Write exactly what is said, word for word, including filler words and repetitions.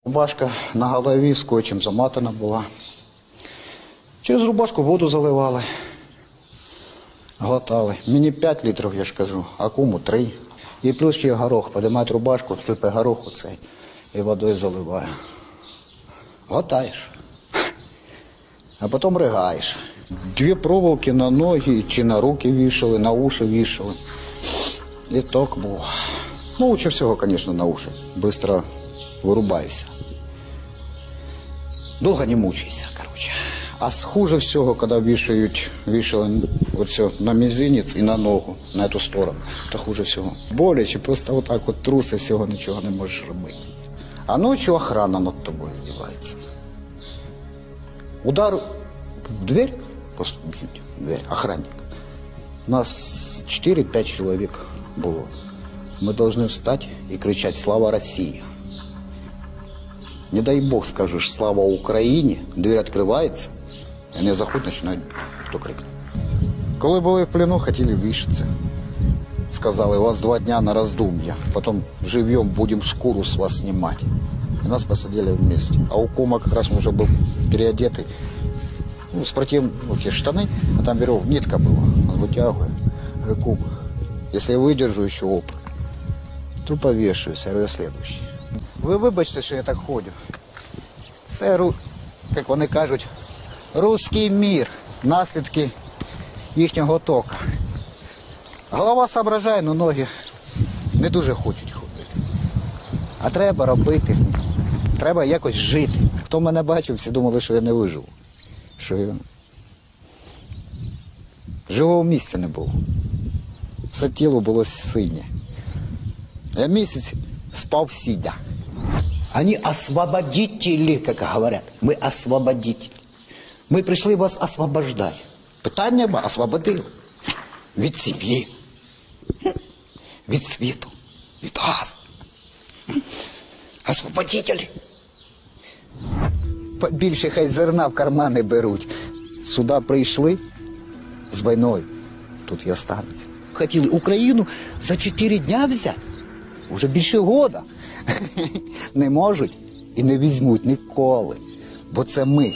Рубашка на голові скотчем замотана була. Через рубашку воду заливали, глотали. Мені п'ять літрів, я ж кажу, а кому три. І плюс ще горох. Підіймають рубашку, сипе горох у цей і водою заливає. Глотаєш. А потім ригаєш. Дві проволоки на ноги чи на руки вішали, на уші вішали. І так був. Ну, лучше всього, звісно, на уші. Быстро вирубаєшся. Довго не мучайся, короче. А хуже всього, коли вішають, вішали оце на мізинець і на ногу, на цю сторону. Це хуже всього. Боляче, просто отак от труси, всього нічого не можеш робити. А ночі охрана над тобою здівається. Удар в дверь, просто б'ють в дверь, охранник. У нас чотири-п'ять чоловік було. Ми повинні встати і кричати «Слава Росії!». Не дай Бог скажеш «Слава Україні!», двері відкриваються, і вони заходять, починають хто крикнути. Коли були в плену, хотіли вішатися. Сказали, у вас два дня на роздум'я, потім живем, будемо шкуру з вас знімати. И нас посадили вместе. А у кома как раз уже был переодетый. Ну, спортивные штаны, а там веревка, нитка была. Он вытягивает. Говорю, кум, если я выдержу еще опыт, то повешаюсь. Я говорю, следующий. Ви вибачте, що я так ходю. Це, як вони кажуть, русський мір, наслідки їхнього тока. Голова соображає, але ноги не дуже хочуть ходити. А треба робити, треба якось жити. Хто мене бачив, всі думали, що я не виживу. Що я... Живого місця не було. Все тіло було синє. Я місяць спав сидя. Они освободители, как говорят. Мы освободители. Мы пришли вас освобождать. Питання ми освободили. Від сім'ї, від світу, від газу. Освободителі. Більше хай зерна в кармани беруть. Сюди прийшли з війною. Тут і останеться. Хотіли Україну за чотири дня взяти. Уже більше года. Не можуть і не візьмуть ніколи. Бо це ми.